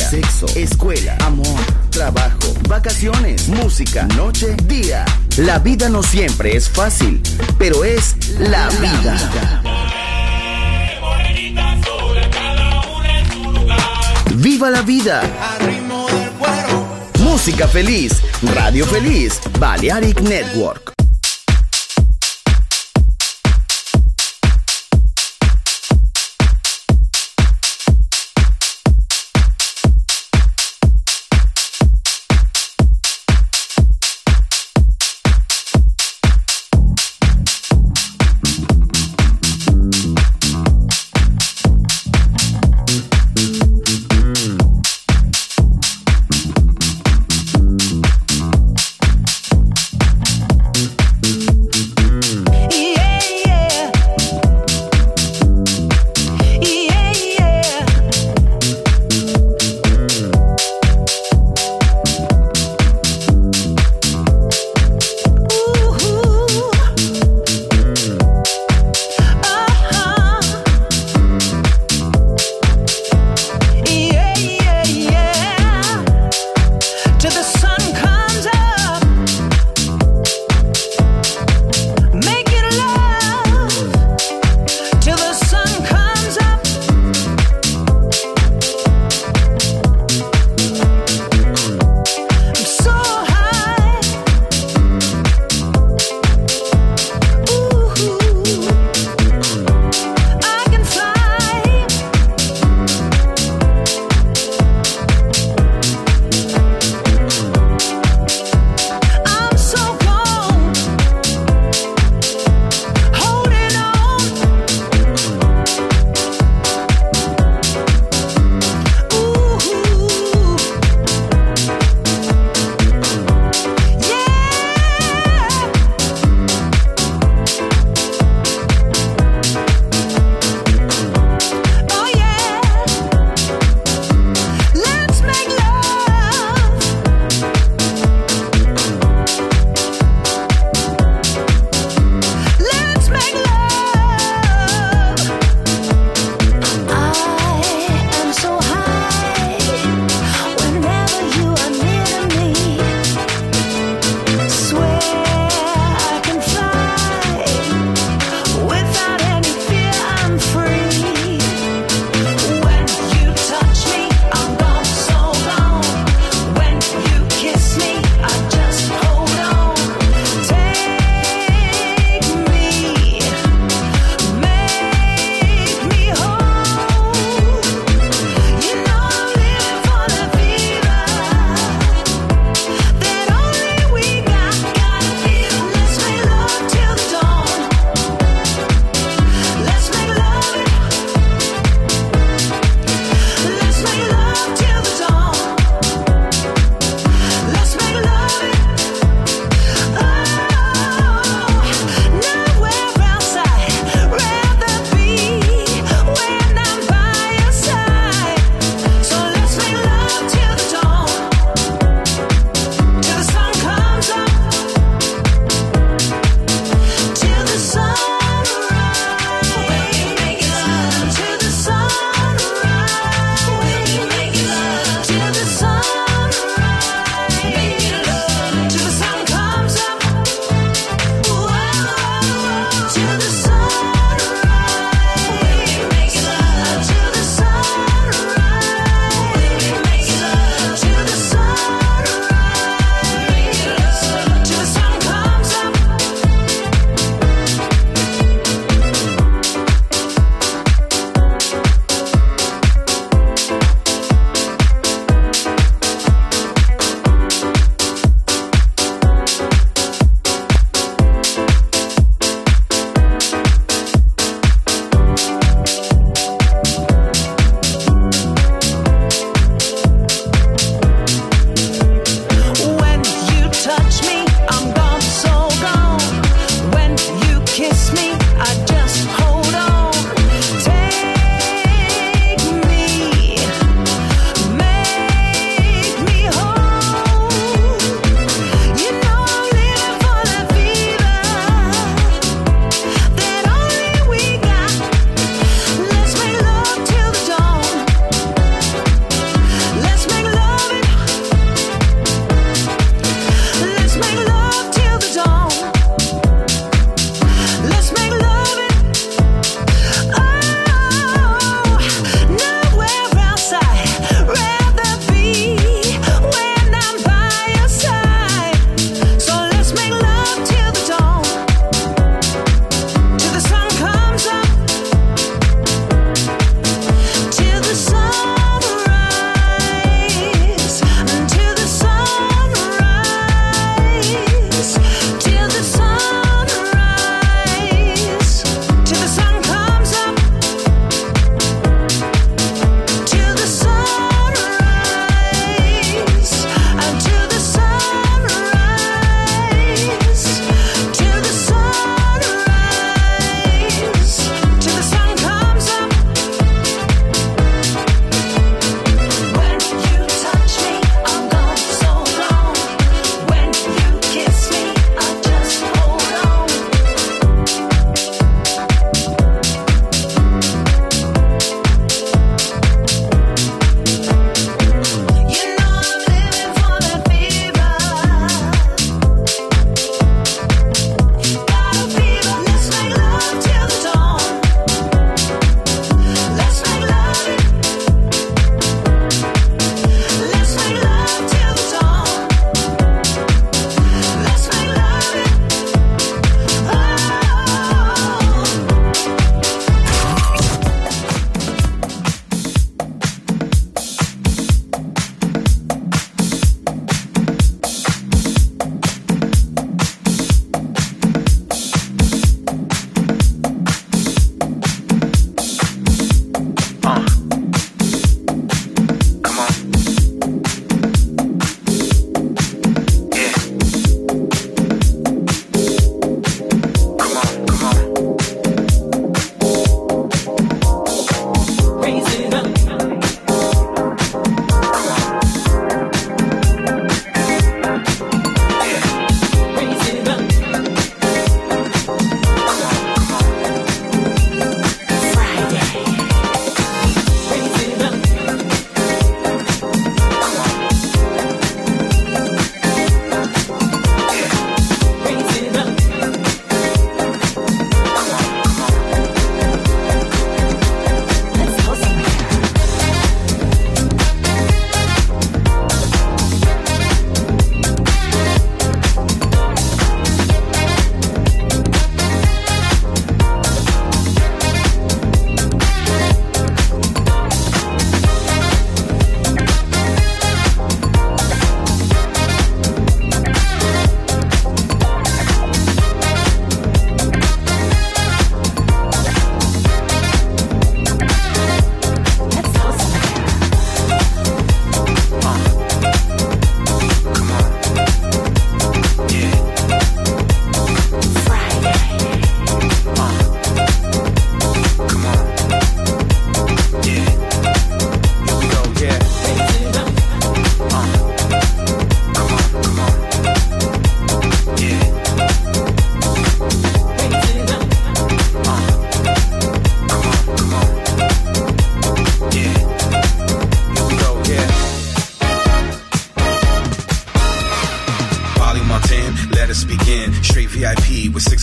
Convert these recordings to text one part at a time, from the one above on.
sexo, escuela, amor, trabajo, vacaciones, música, noche, día. La vida no siempre es fácil, pero es la vida. ¡Viva la vida! Música feliz, radio feliz, Balearic Network.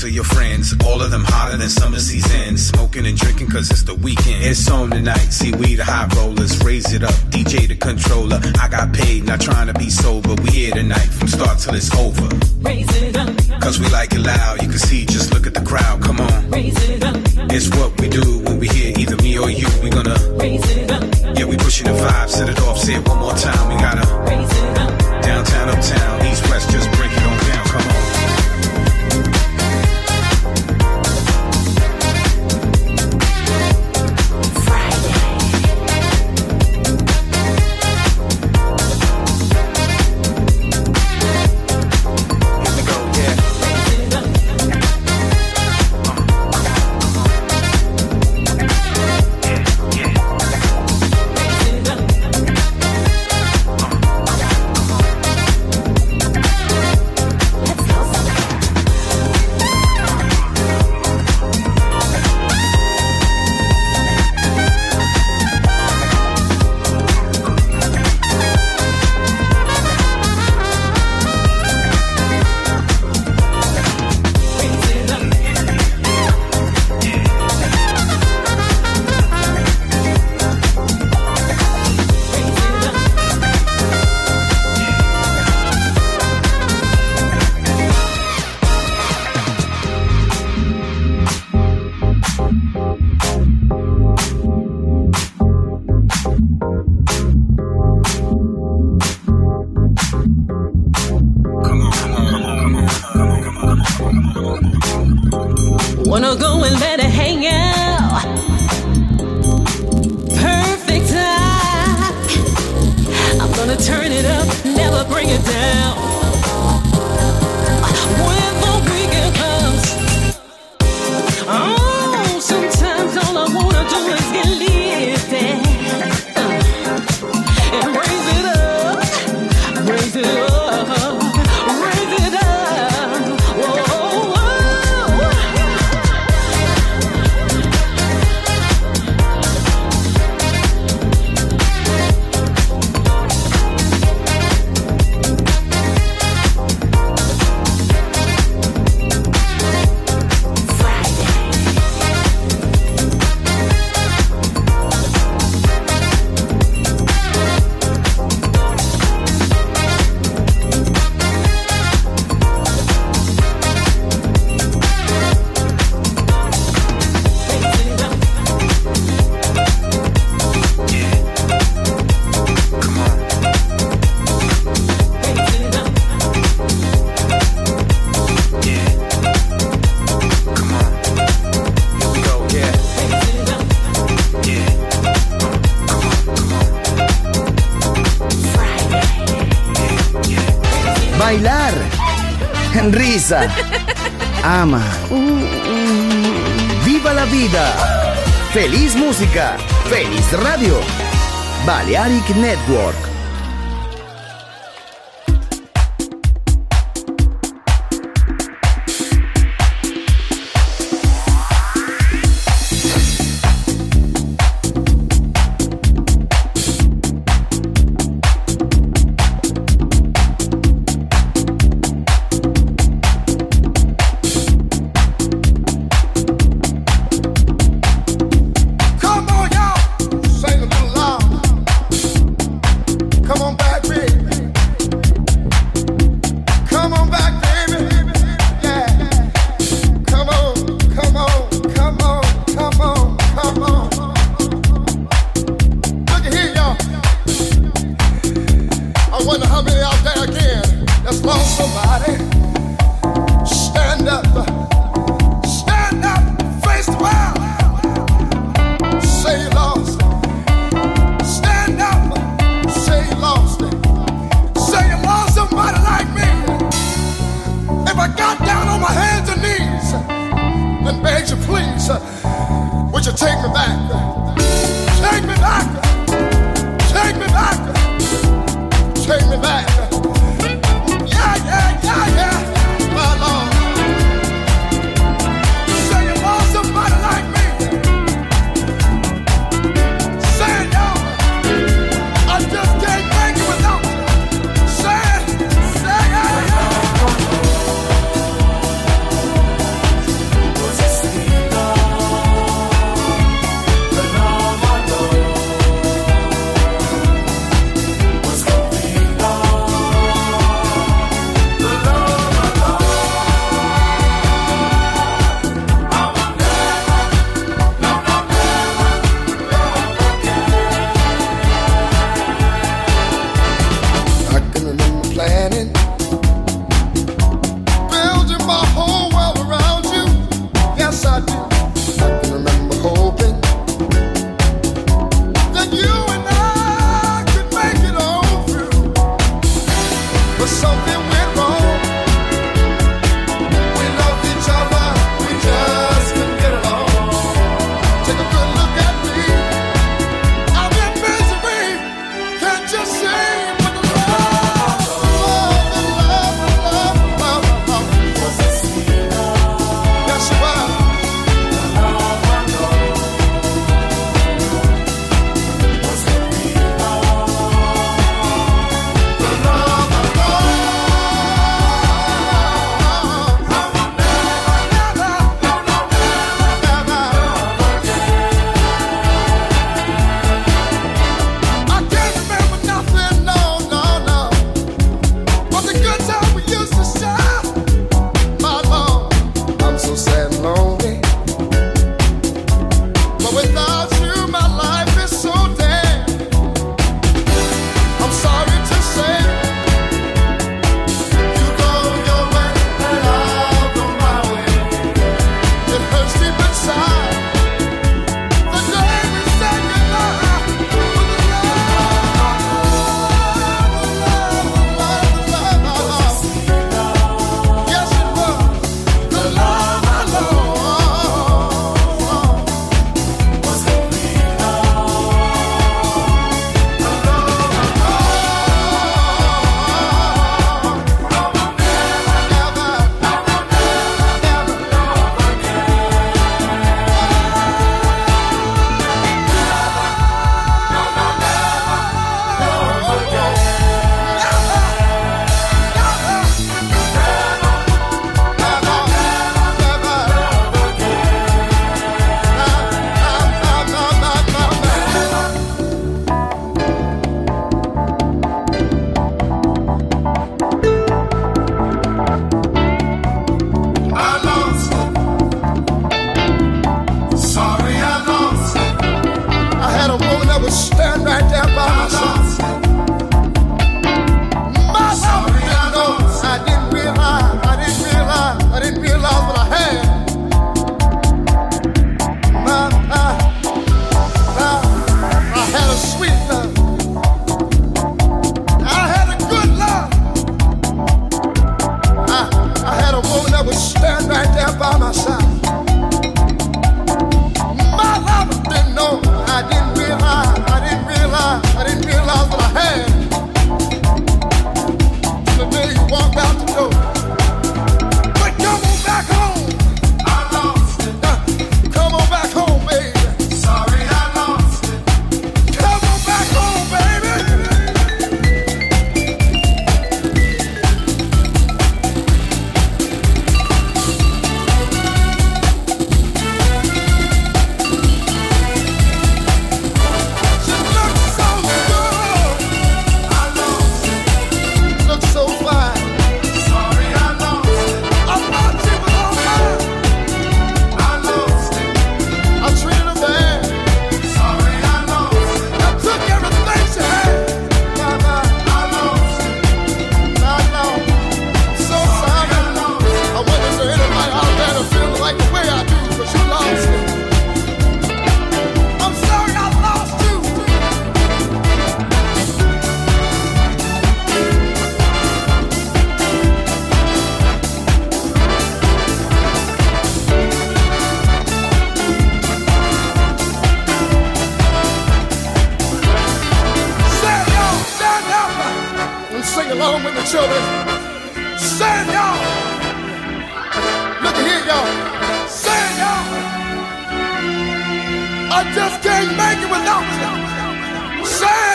to your friends. All of them hotter than summer season. Smoking and drinking cause it's the weekend. It's on tonight, see we the high rollers. Raise it up, DJ the controller. I got paid, not trying to be sober. We here tonight from start till it's over. Raise it up, cause we like it loud. You can see, just look at the crowd, come on. Raise it up, it's what we do when we hear either me or you. We gonna raise it up. Yeah, we pushing the vibe, set it off, say it one more time. We gotta raise it up. Downtown, uptown, east, west, just break it on down, come on. Wanna go and let it hang out. Perfect time. I'm gonna turn it up, never bring it down. When the weekend comes, oh, sometimes all I wanna do is get lifted and raise it up, raise it up. Bailar, risa, ama, viva la vida, feliz música, feliz radio, Balearic Network. stand right there by my side. My lover didn't know. I didn't realize what I had. I had a sweet love. I had a good love. I had a woman that would stand right there by my side. My lover didn't know. I didn't realize what I had. Till the day you walked out the door. But come on back home. I lost it. Come on back home, baby. Sorry, I lost it. Come on back home, baby. She looks so good. I lost it. Looks so fine. Sorry, I lost it. I thought she was all mine. I lost it. I treated her bad. Sorry, I lost it. I took everything she had. I lost it. I know. I'm so sorry. I wonder if there's anybody out there that feels like the way I do, but you lost it. I'm sorry I lost you. Stand y'all, stand up and sing along with the children. Stand y'all. Look at here, y'all. Stand y'all. I just can't make it without you. Stand.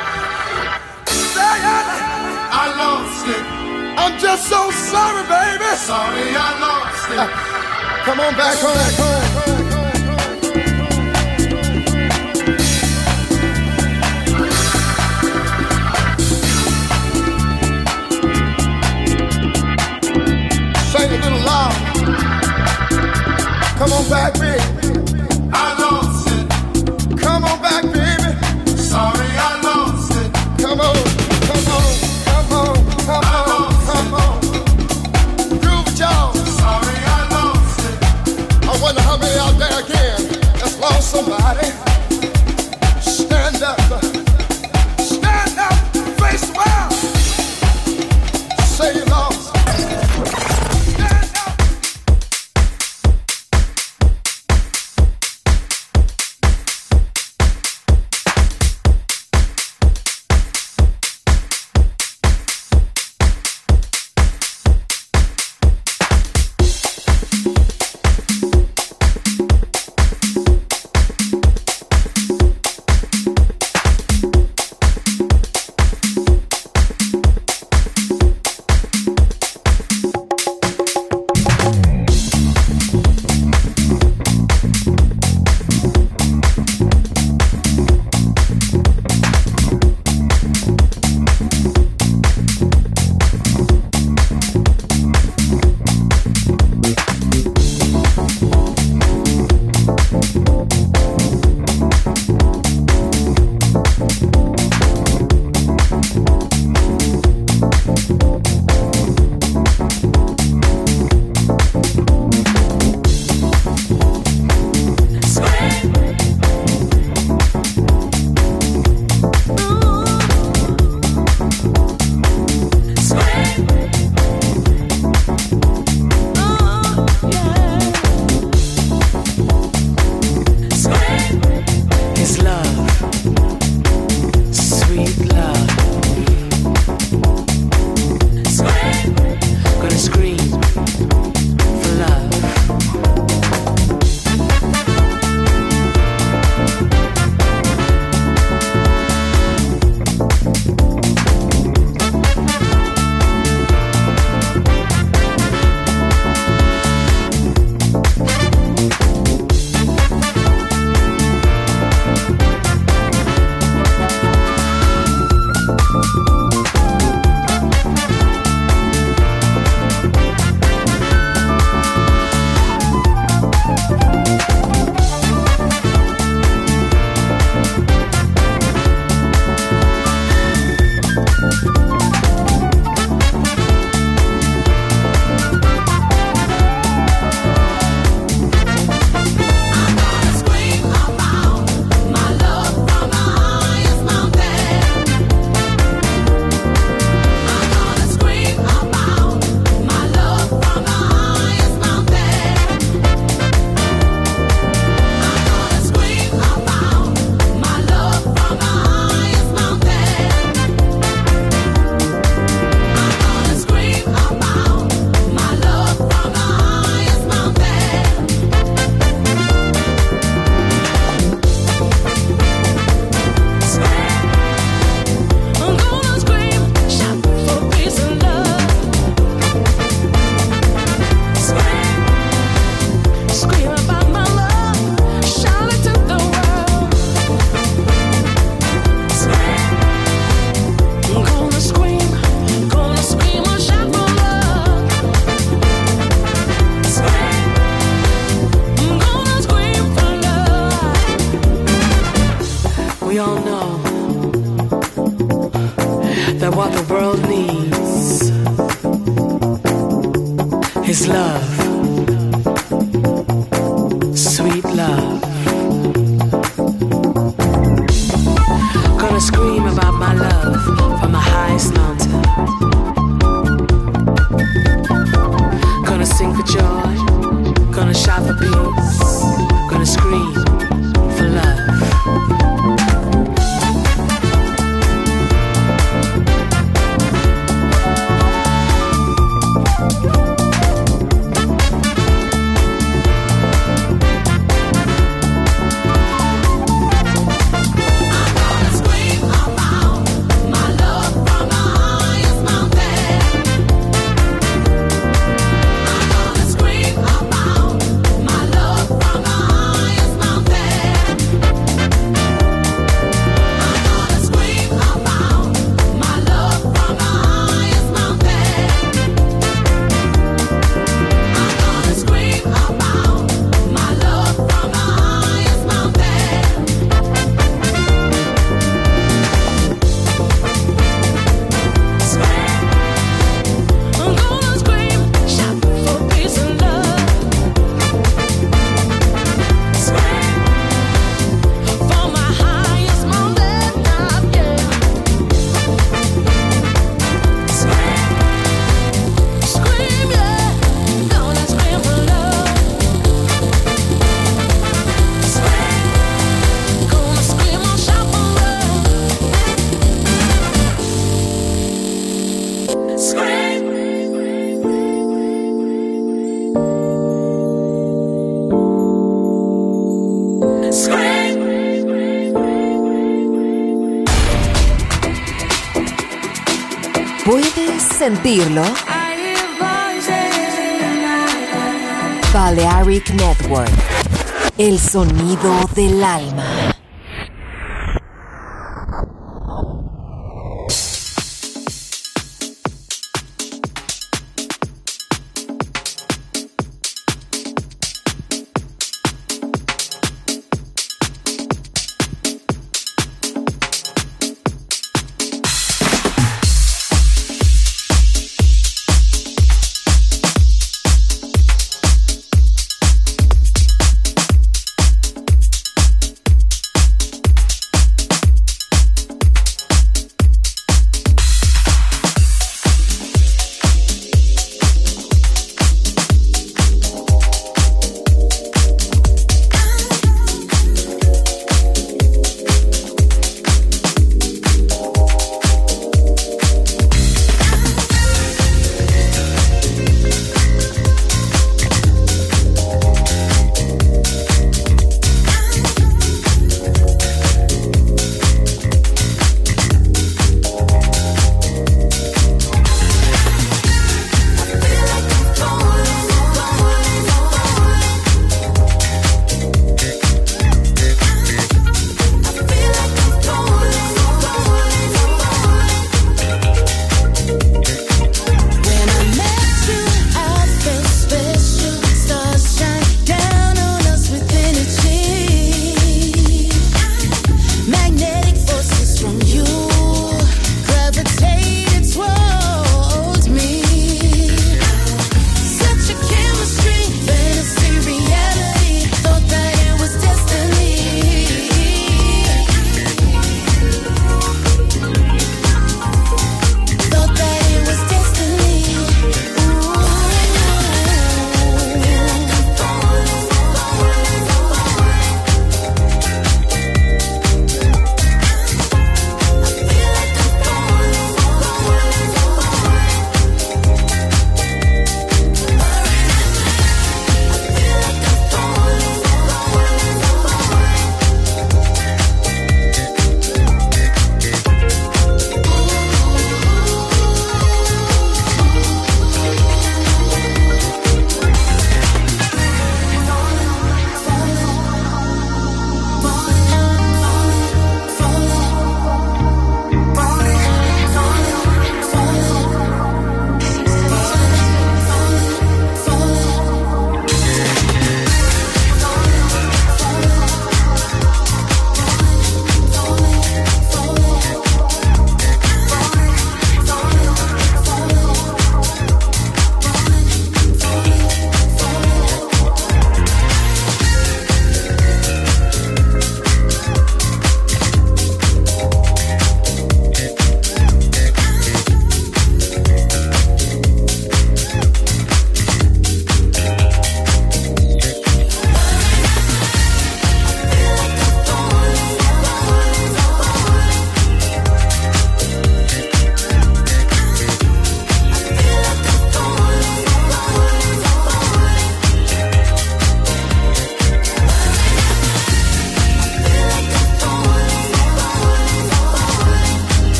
Stand. I lost it. I'm just so sorry, baby. Sorry, I lost it. Come on back home. Sing a little loud. Come on back, baby. I lost it. Come on back, baby. Sorry, I lost it. Come on, come on, come on, come on, come on. Groove it, y'all. Sorry, I lost it. I wonder how know that what the world needs is love, sweet love. Gonna scream about my love from the highest mountain. Gonna sing for joy, gonna shout for peace, gonna scream for love. ¿Puedes sentirlo? Balearic Network, el sonido del alma.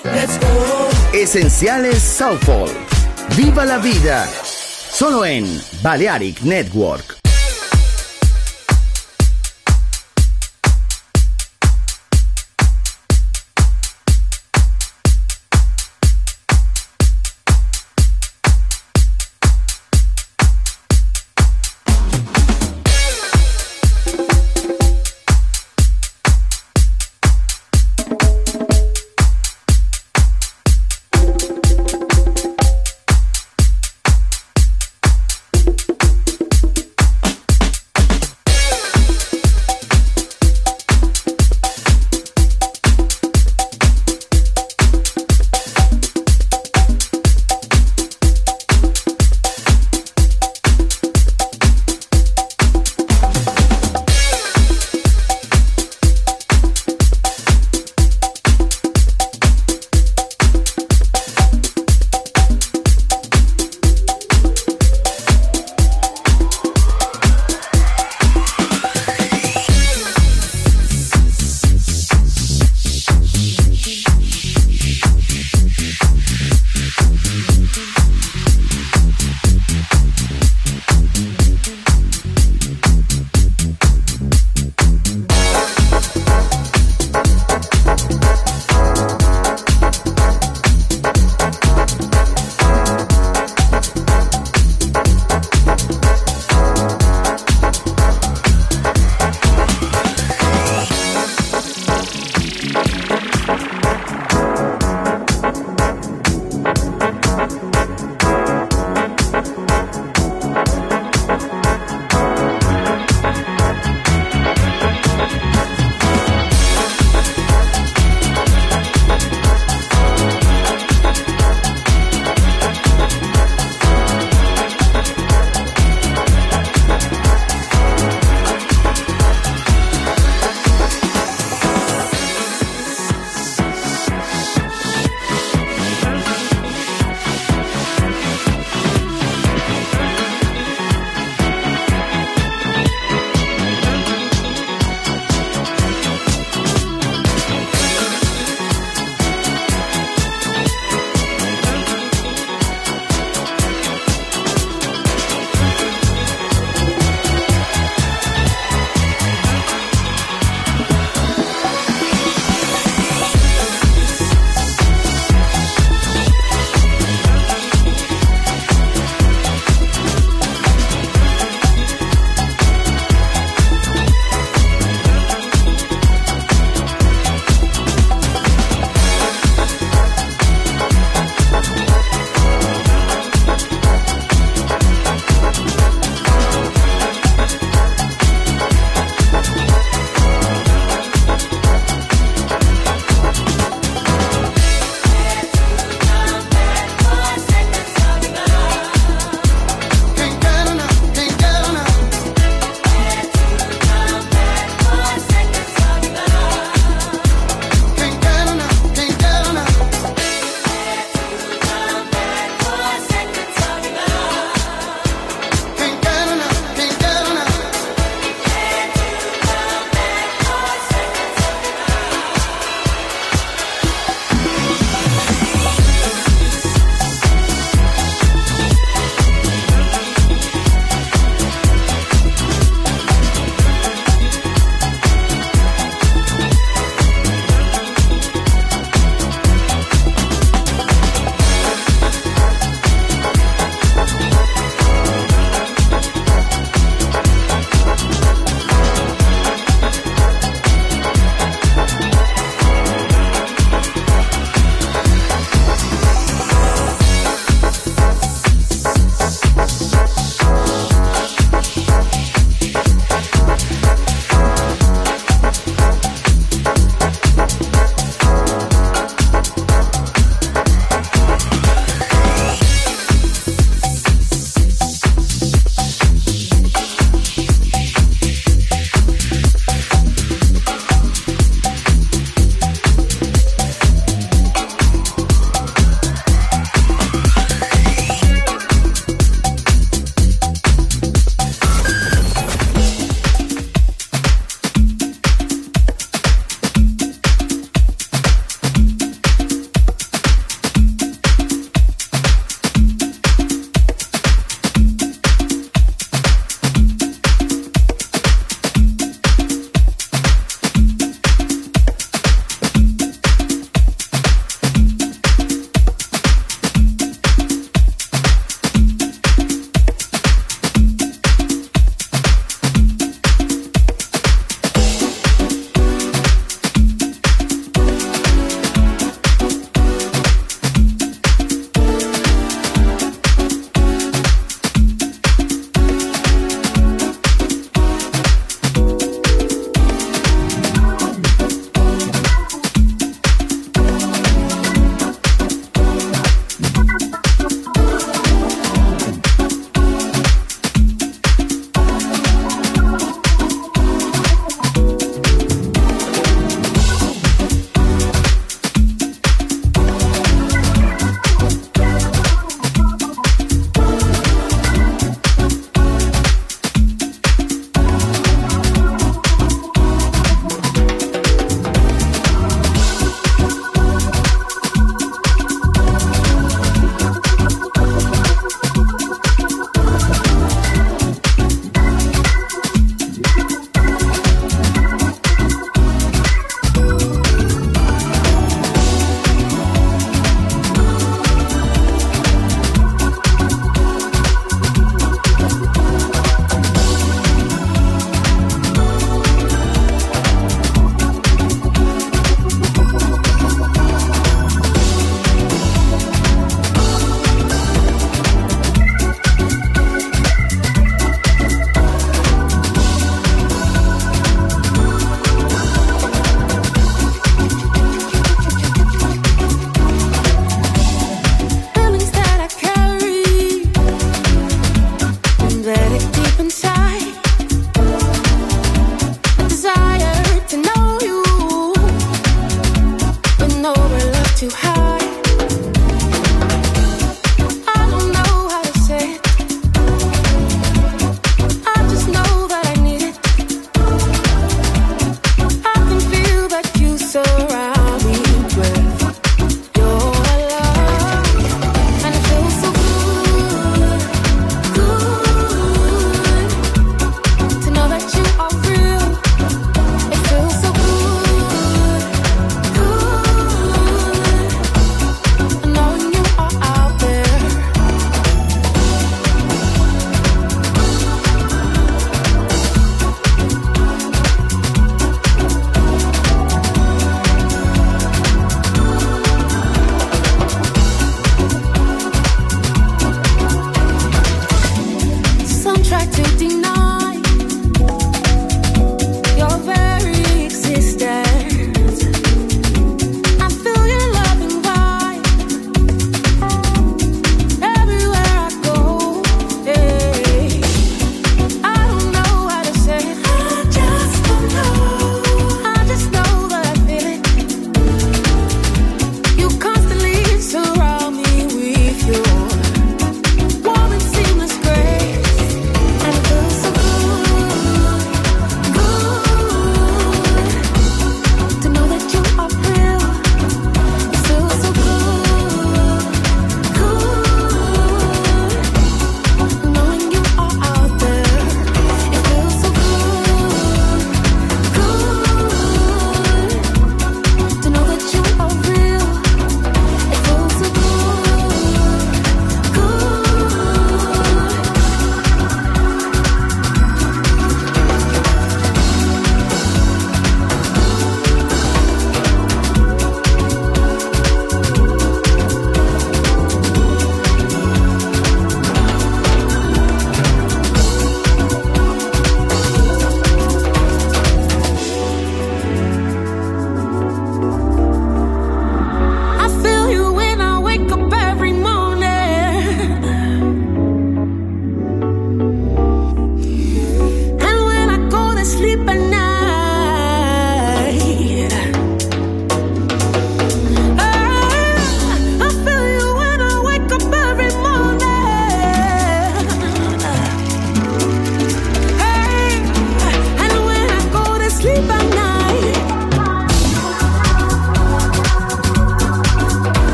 Let's go. Esenciales Soulful. Viva la vida. Solo en Balearic Network.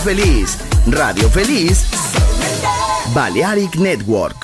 feliz. Radio Feliz. Balearic Network.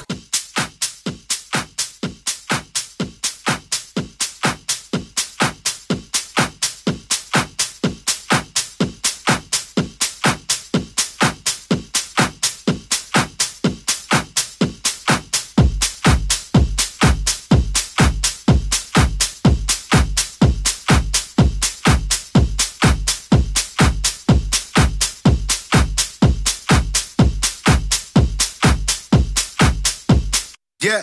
Yeah.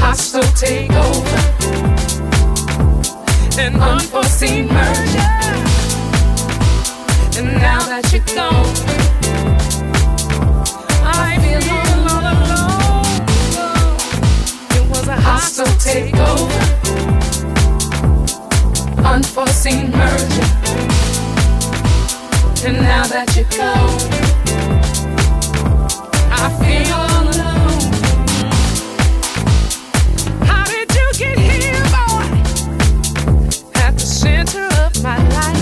hostile takeover, an unforeseen merger. And now that you're gone, I feel all alone. It was a hostile takeover, unforeseen merger. And now that you're gone, I feel all alone. How did you get here, boy? At the center of my life.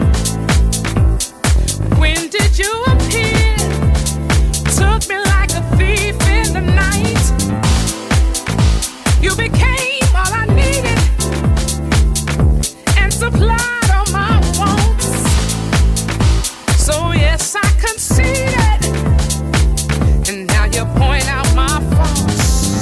When did you appear? Took me like a thief in the night. You became all I needed and supplied all my wants. So yes, I conceded, and now you point out my faults.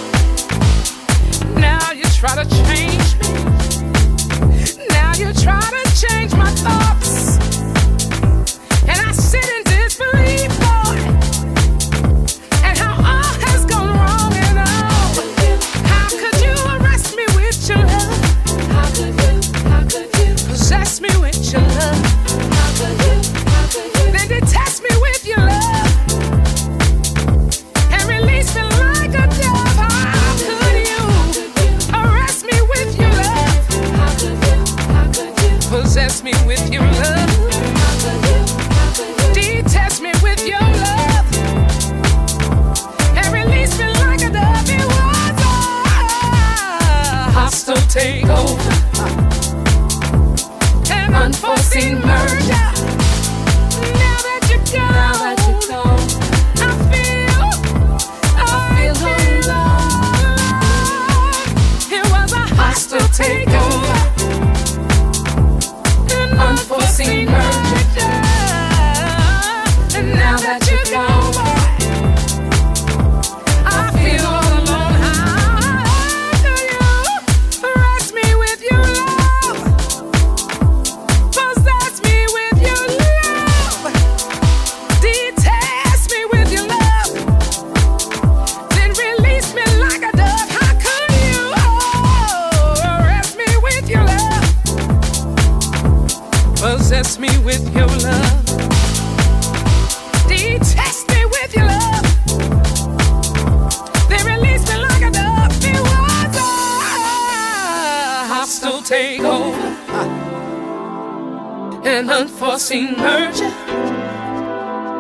Now you try to change me. Now you try to change my thoughts. And I sit in disbelief, boy, at how all has gone wrong and all. How could you arrest me with your love? How could you possess me with your love? How could you then detest me with your love and release me like a dove? How could you arrest me with your love? How could you possess me with your love? Detest me with your love and release me like a dove. It was a hostile takeover, an unforeseen merger. Now that you're gone, I feel alone. It was a hostile takeover, an unforeseen merger. And now that you're gone, I feel all alone. How do you arrest me with your love? Possess me with your love. Detest me with your love. Then release me like a dove. How could you arrest me with your love? Possess me with your love. Detest me with your love. They release me like a dove. It was a hostile takeover, an unforeseen merger.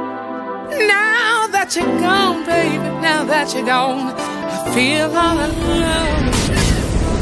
Now that you're gone, baby, now that you're gone, I feel all alone.